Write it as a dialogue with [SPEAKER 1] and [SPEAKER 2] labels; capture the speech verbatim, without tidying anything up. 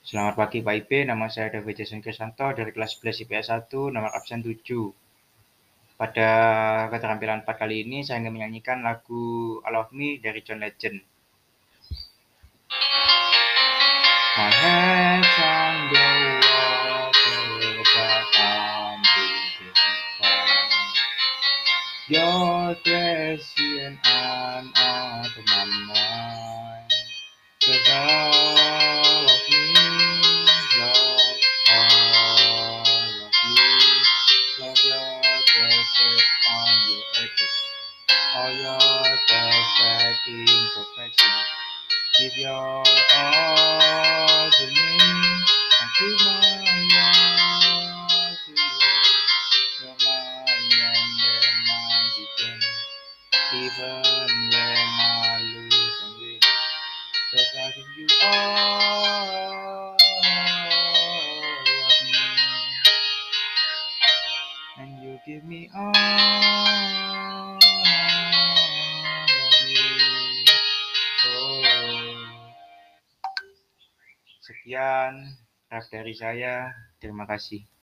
[SPEAKER 1] Selamat pagi Pak Ipe, nama saya David Jason Krisanto dari kelas sebelas I P S satu, nomor absen tujuh. Pada keterampilan empat kali ini, saya ingin menyanyikan lagu All of Me dari John Legend. My head's on the water, but I'm breathing fine. You're crazy and I'm out of my mind. 'Cause all of me love all of you. Love your dresses on your edges, all your perfect imperfections. Give your all to me, and give my all to you. You're mine and then I begin, even when I lose and win. 'Cause I give you all of me, and you give me all of you. Oh. Sekian rap dari saya. Terima kasih.